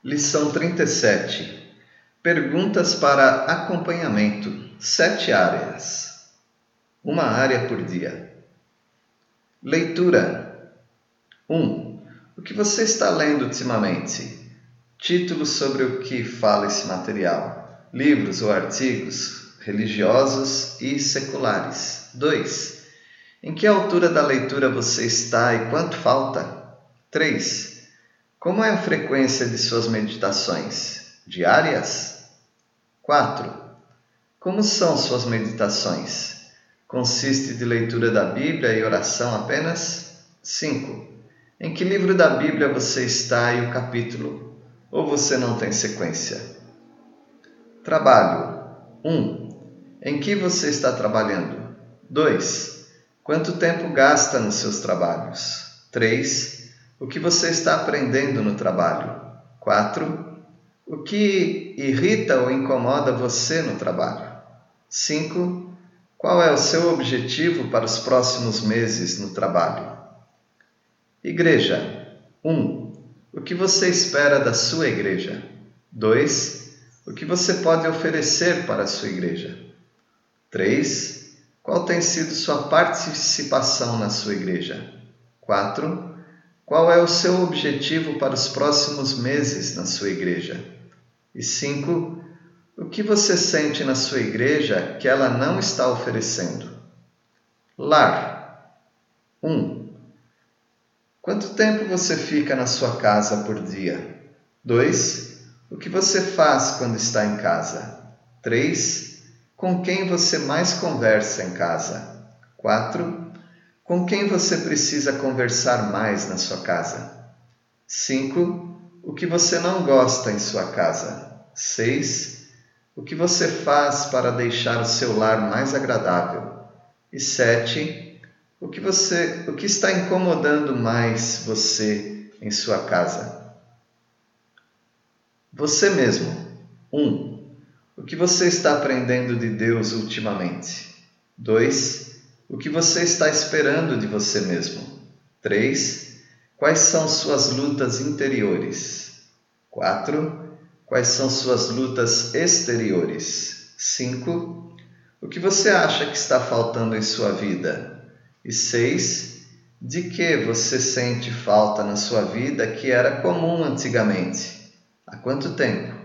Lição 37. Perguntas para acompanhamento. 7 áreas. Uma área por dia. Leitura. 1. O que você está lendo ultimamente? Títulos sobre o que fala esse material. Livros ou artigos religiosos e seculares. 2. Em que altura da leitura você está e quanto falta? 3. Como é a frequência de suas meditações? Diárias? 4. Como são suas meditações? Consiste de leitura da Bíblia e oração apenas? 5. Em que livro da Bíblia você está e o capítulo? Ou você não tem sequência? Trabalho. 1. Em que você está trabalhando? 2. Quanto tempo gasta nos seus trabalhos? 3. O que você está aprendendo no trabalho? 4. O que irrita ou incomoda você no trabalho? 5. Qual é o seu objetivo para os próximos meses no trabalho? Igreja. 1. O que você espera da sua igreja? 2. O que você pode oferecer para a sua igreja? 3. Qual tem sido sua participação na sua igreja? 4. Qual é o seu objetivo para os próximos meses na sua igreja? E 5. O que você sente na sua igreja que ela não está oferecendo? Lar. 1. Quanto tempo você fica na sua casa por dia? 2. O que você faz quando está em casa? 3. Com quem você mais conversa em casa? 4. Com quem você precisa conversar mais na sua casa? 5. O que você não gosta em sua casa? 6. O que você faz para deixar o seu lar mais agradável? E 7. O que está incomodando mais você em sua casa? Você mesmo. 1. O que você está aprendendo de Deus ultimamente? 2. O que você está esperando de você mesmo? 3. Quais são suas lutas interiores? 4. Quais são suas lutas exteriores? 5. O que você acha que está faltando em sua vida? E 6. De que você sente falta na sua vida que era comum antigamente? Há quanto tempo?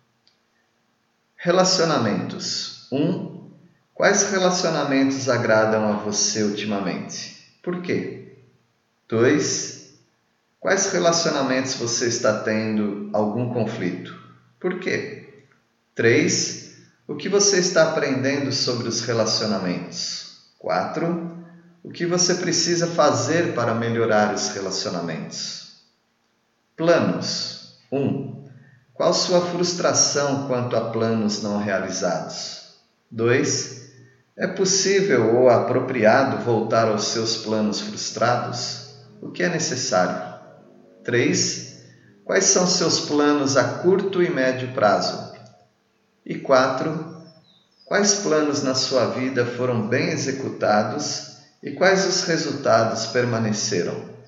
Relacionamentos. 1. Quais relacionamentos agradam a você ultimamente? Por quê? 2. Quais relacionamentos você está tendo algum conflito? Por quê? 3. O que você está aprendendo sobre os relacionamentos? 4. O que você precisa fazer para melhorar os relacionamentos? Planos. 1. Qual sua frustração quanto a planos não realizados? 2. É possível ou apropriado voltar aos seus planos frustrados? O que é necessário? 3. Quais são seus planos a curto e médio prazo? E 4. Quais planos na sua vida foram bem executados e quais os resultados permaneceram?